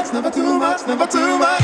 never too much, never too much.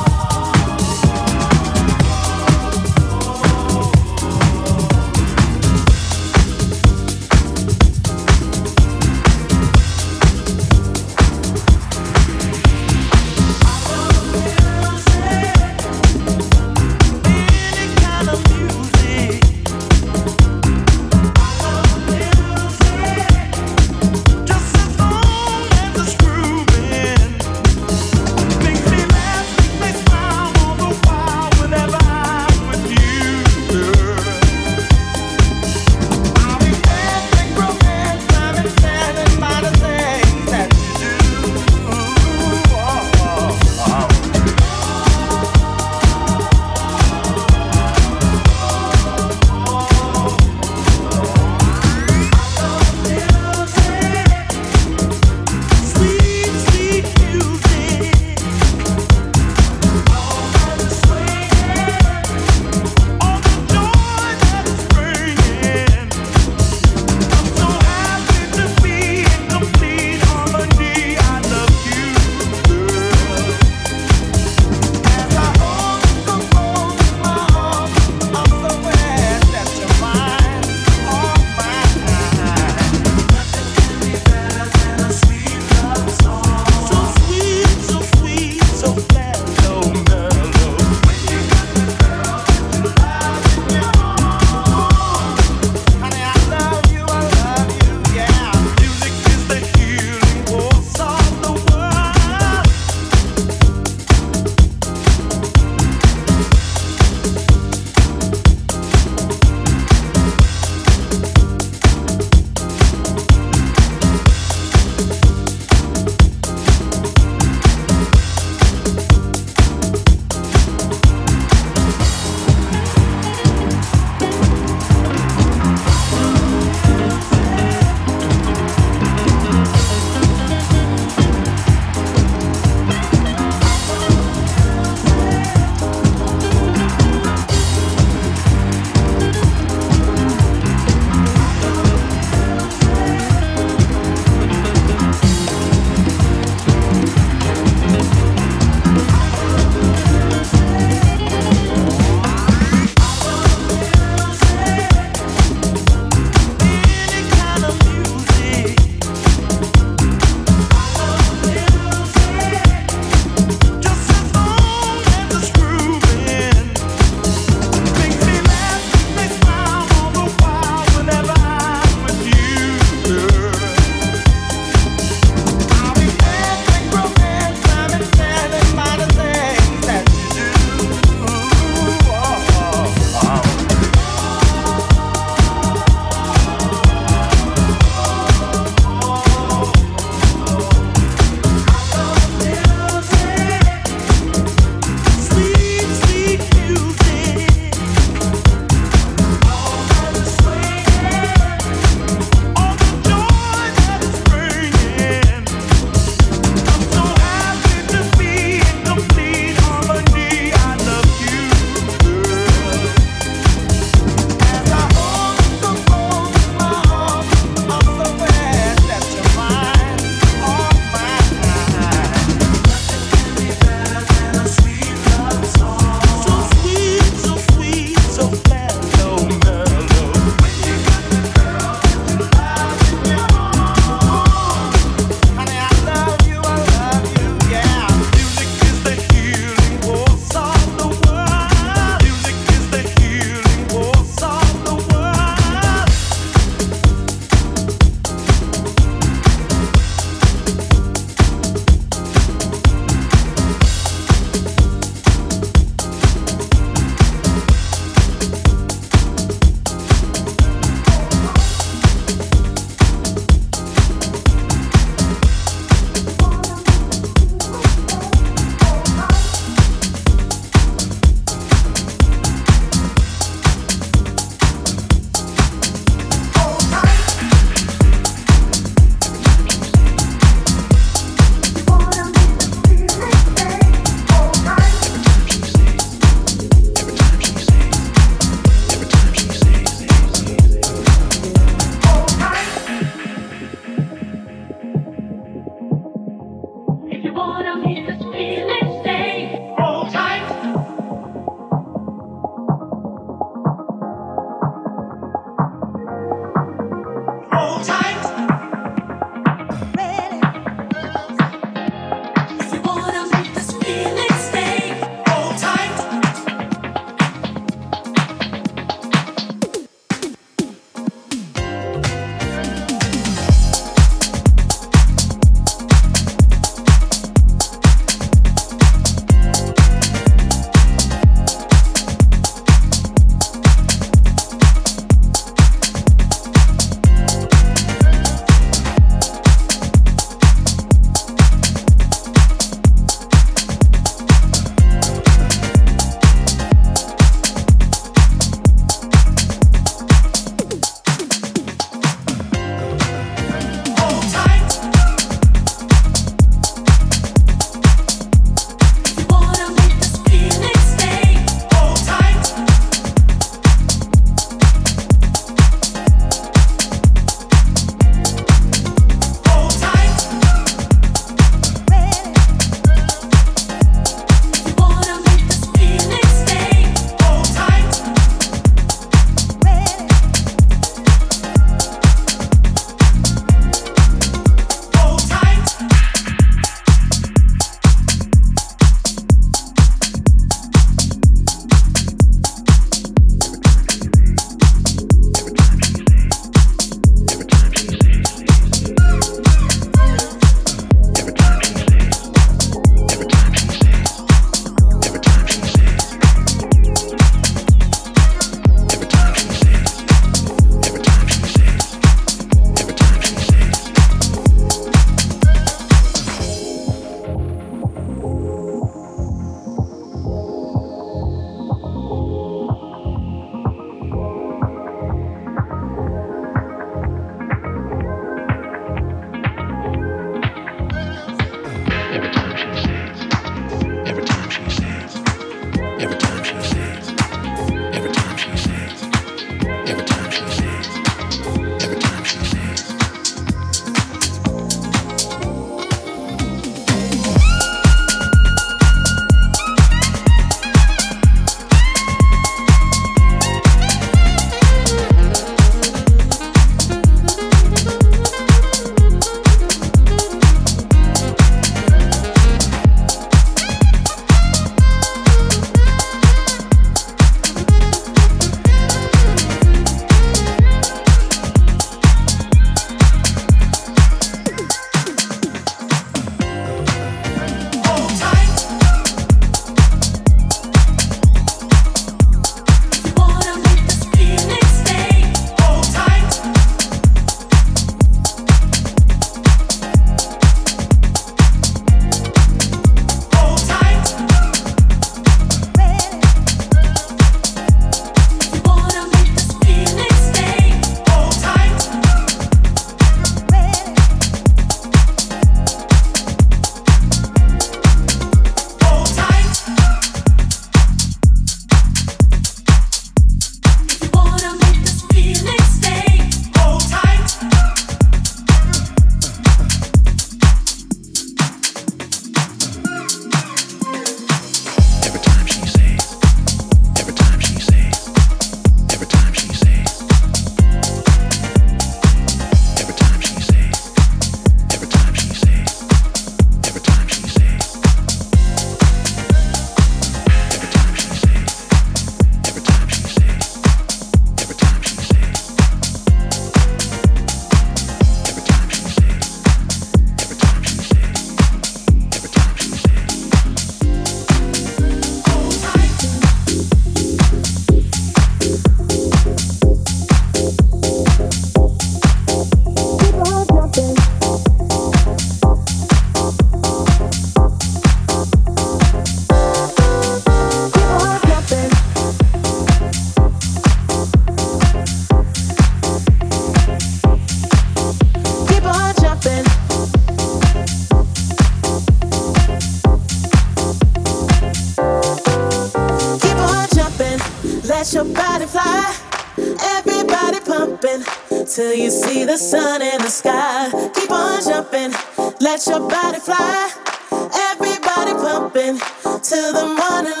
Let your body fly, everybody pumping till you see the sun in the sky. Keep on jumping, let your body fly, everybody pumping till the morning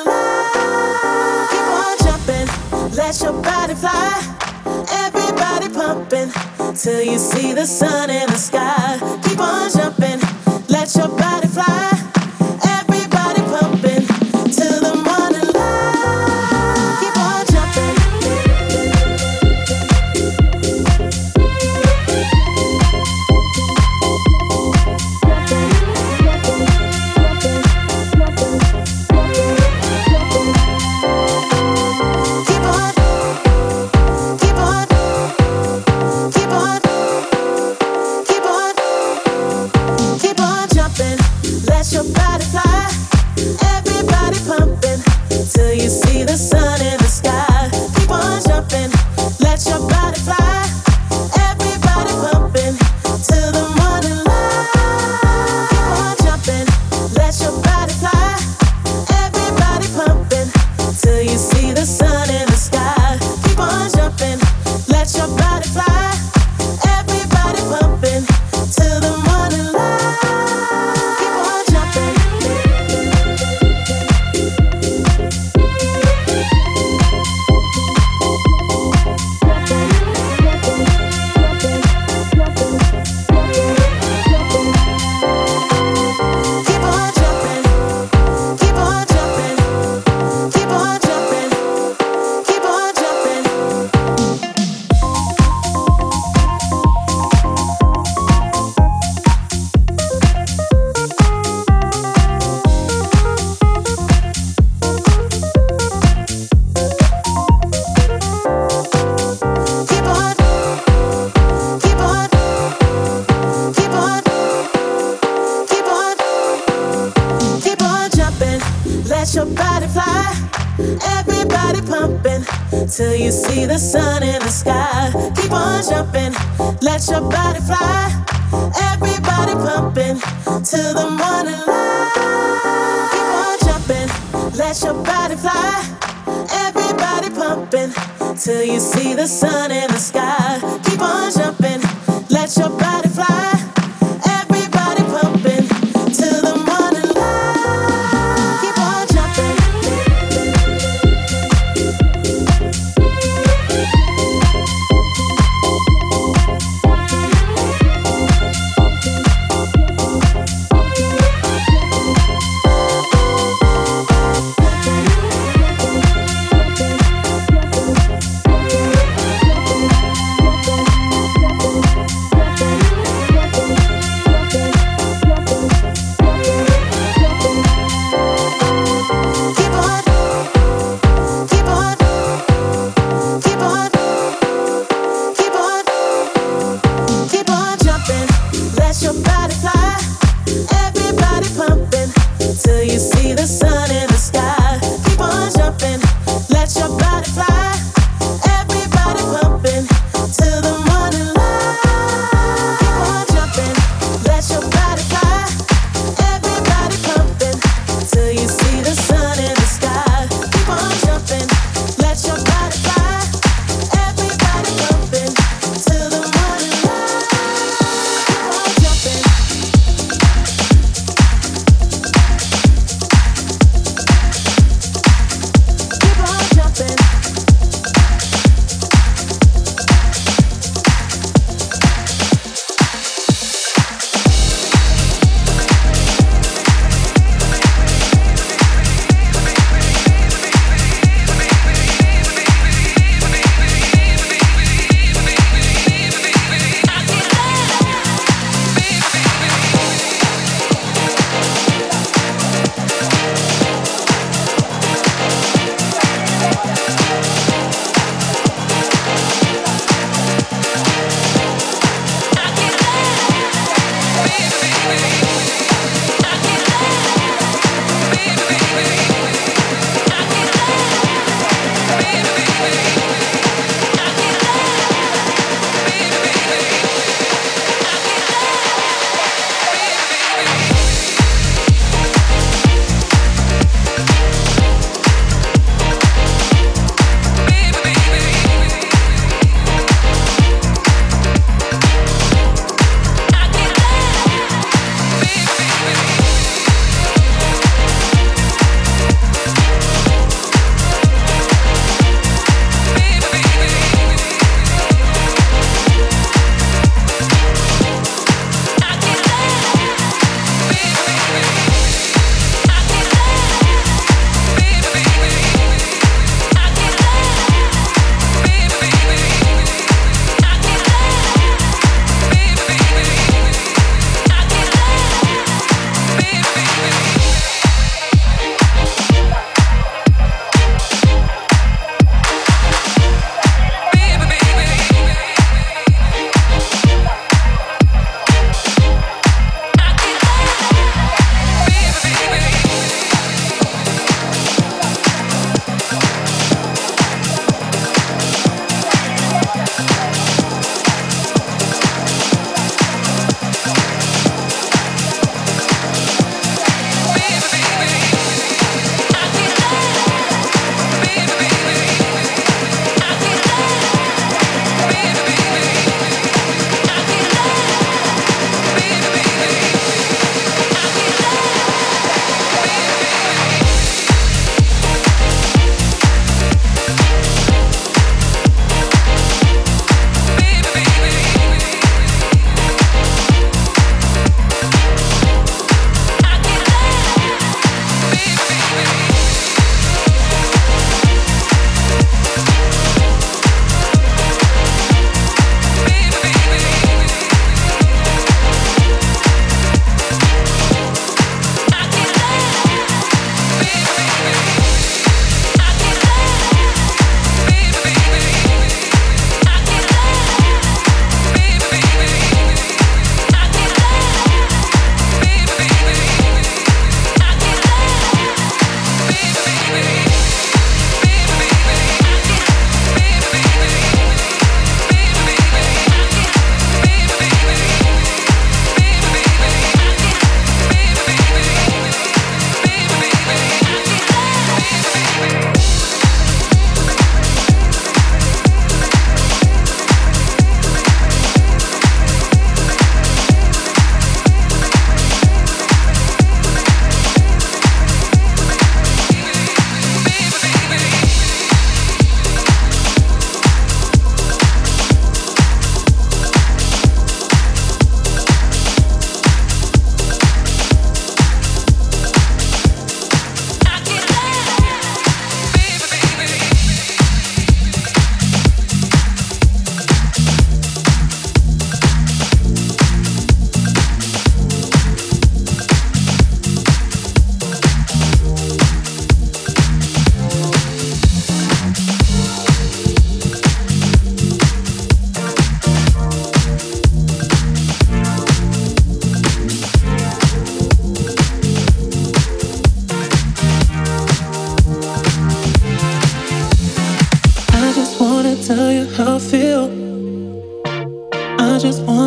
light. Keep on jumping, let your body fly, everybody pumping till you see the sun in the sky. Keep on jumping, let your body fly. Everybody pumping till the morning light. Keep on jumping. Till you see the sun in the sky. Keep on jumping, let your body fly. Everybody pumping till the morning light. Keep on jumping, let your body fly. Everybody pumping till you see the sun in the sky. Keep on jumping, let your body fly. Everybody pumping till the morning light. Keep on jumping. Let your body fly, everybody pumping till you see the sun in the sky. Keep on jumping, let your body fly, everybody pumping till the morning light. Keep on jumping, let your body fly, everybody pumping till you see the sun in the sky. Keep on jumping, let your body fly, everybody pumping till the morning light. Keep on jumping.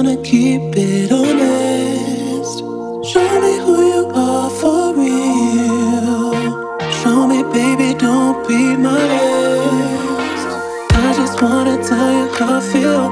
wanna keep it honest. Show me who you are for real. Show me, baby, don't be my ex. I just wanna tell you how I feel.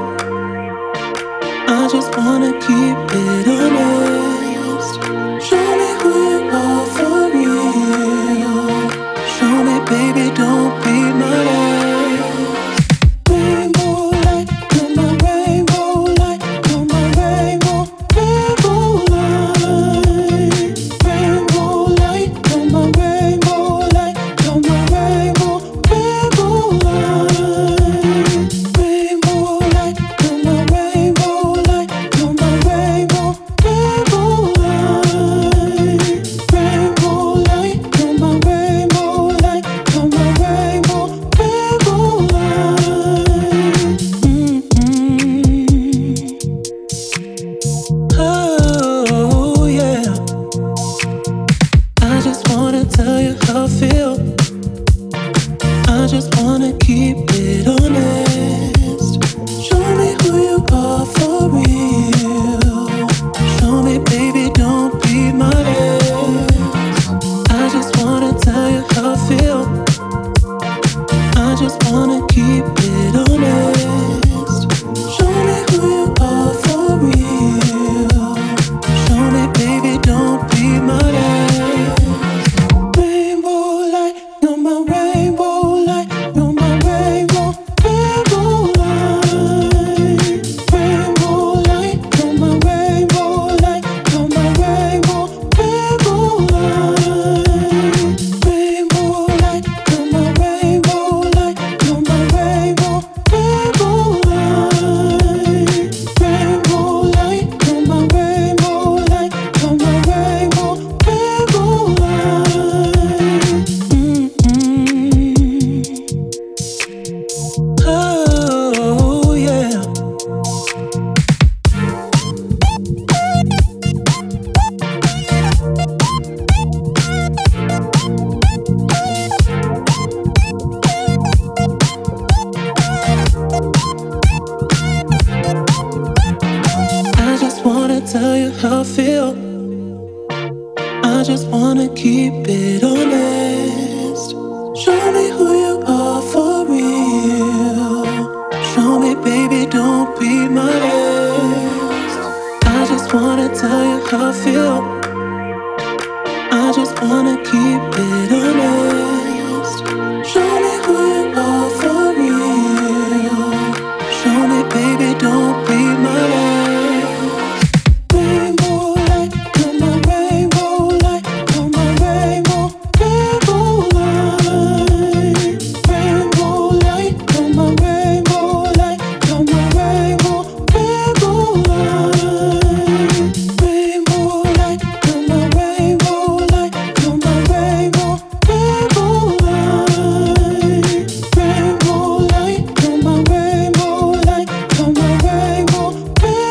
I just wanna keep it honest. Show me who you are for real. Show me, baby, don't be my ex. Rainbow light, you're my rainbow light, you're my rainbow, rainbow light. Rainbow light, you're my rainbow light, you're my rainbow, rainbow light. Rainbow light, you're my rainbow light, you're my rainbow, rainbow light. Rainbow light, you're my rainbow light, you're my rainbow, rainbow light. Oh yeah. I just wanna tell you how I feel. I just wanna keep it honest. Show me who you are for real. Show me, baby, don't be my ex. I just wanna tell you how I feel. I just wanna keep it honest. Show me who you are for real. Show me, baby, don't be my ex. Rainbow light, you're my rainbow light, you're my rainbow, rainbow light. Rainbow light, you're my rainbow light, you're my rainbow, rainbow light. Rainbow light, you're my rainbow light, you're my rainbow, rainbow light. Rainbow light, you're my rainbow light, you're my rainbow, rainbow light. Oh yeah. I just wanna tell you how I feel. I just wanna keep it honest. Show me who you are for real. Show me, baby, don't be my ex. I just wanna tell you how I feel. I just wanna keep it honest. Show me who you are for real. Show me, baby, don't be my ex. Rainbow light, you're my rainbow light, you're my rainbow, rainbow light. Rainbow light, you're my rainbow light, you're my rainbow, rainbow light. Rainbow light, you're my rainbow light, you're my rainbow, rainbow light. Rainbow light, you're my rainbow light, you're my rainbow, rainbow light.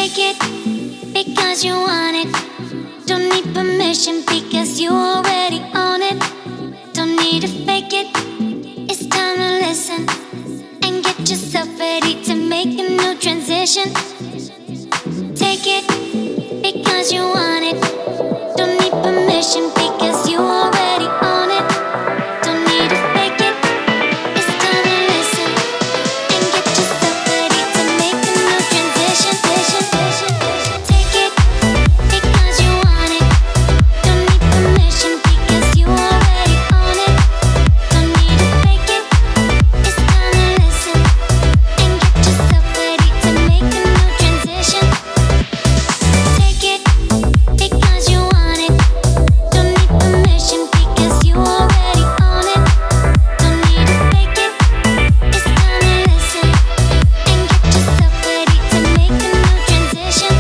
Take it because you want it. Don't need permission because you already own it. Don't need to fake it. It's time to listen and get yourself ready to make a new transition. Take it because you want it. Don't need permission because you already own it. Don't need to fake it. It's time to listen and get yourself ready to make a new transition. Take it because you want it. Don't need permission because you already own it. Don't need to fake it. It's time to listen and get yourself ready to make a new transition. Take it because you want it. Don't need permission because you already own it. Don't need to fake it. It's time to listen and get yourself ready to make a new transition.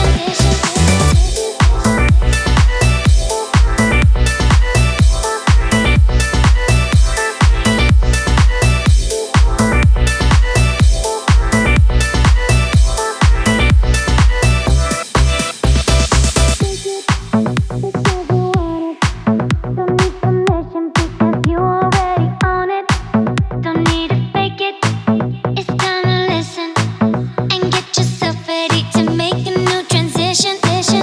Don't need permission because you already own it. Don't need to fake it. It's time to listen and get yourself ready to make a new transition.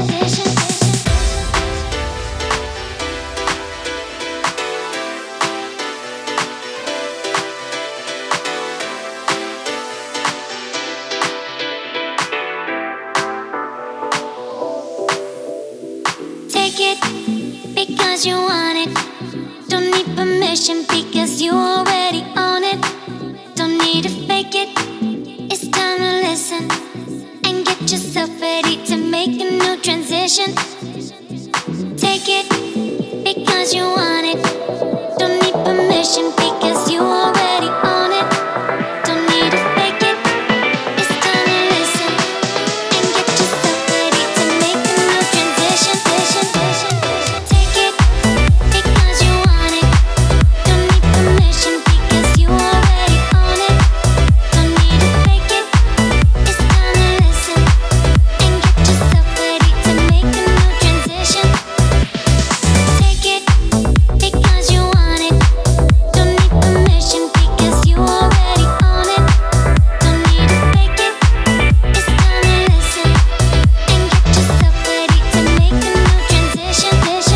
Take it because you want it. Don't need permission because you already own it. Don't need to fake it. It's time to listen and get yourself ready to make a new transition. Take it because you want it. Don't need permission because you already own it. Don't need to fake it. It's time to listen and get yourself ready to make a new transition. Take it because you want it. Don't need permission because you already own it. Don't need to fake it. It's time to listen and get yourself ready to make a new transition. Take it because you want it. Don't need permission because you already own it. Don't need to fake it. It's time to listen and get yourself ready to make a new transition.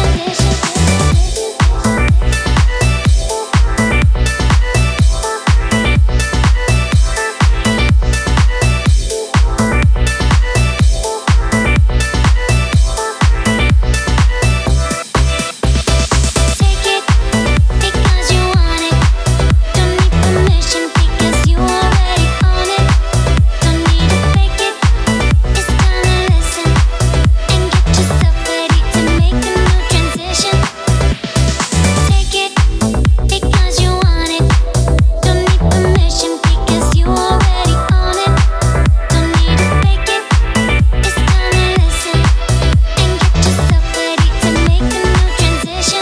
Take it because you want it. Don't need permission because you already own it. Don't need to fake it. It's time to listen and get yourself ready to make a new transition. Take it because you want it. Don't need permission because you already own it. Don't need to fake it. It's time to listen and get yourself ready to make a new transition.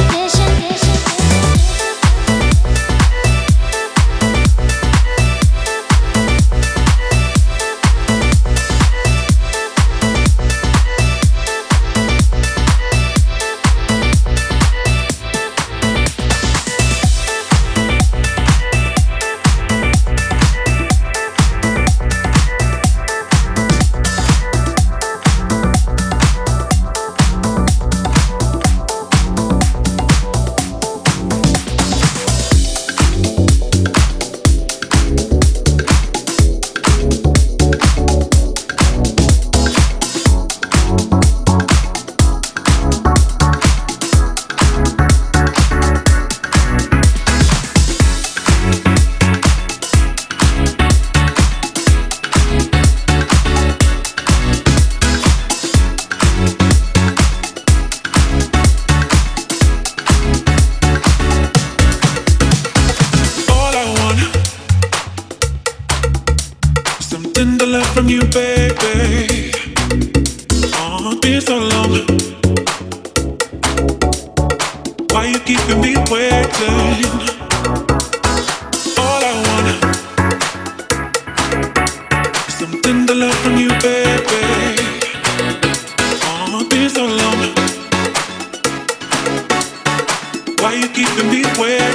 Something to learn from you, baby. Oh, it's been so long. Why you keeping me waiting? All I want is something to learn from you, baby.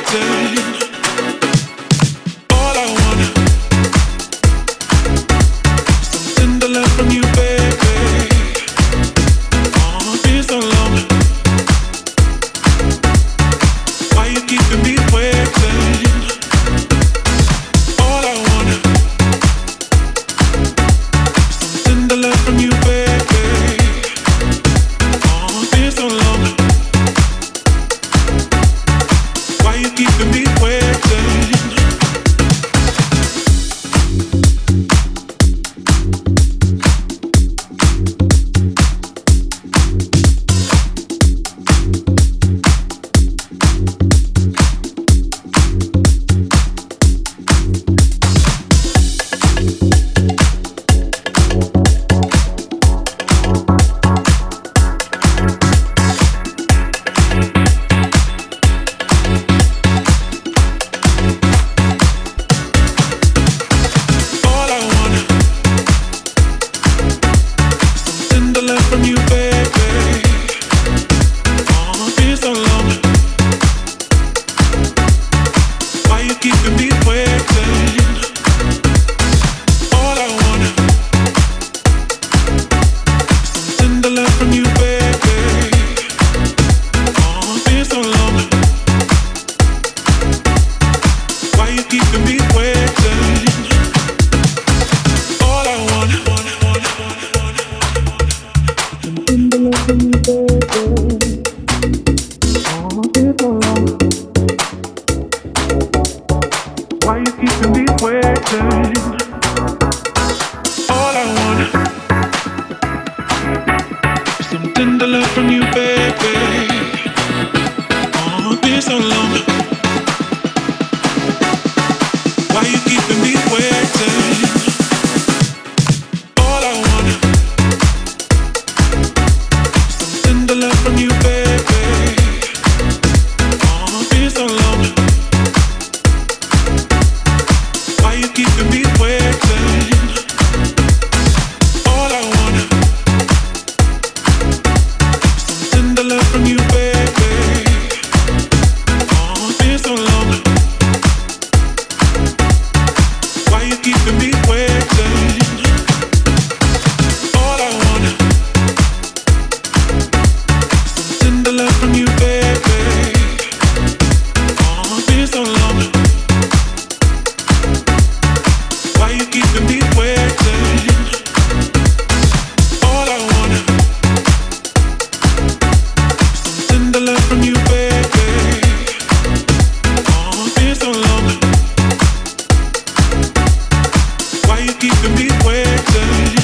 Keeping me waiting.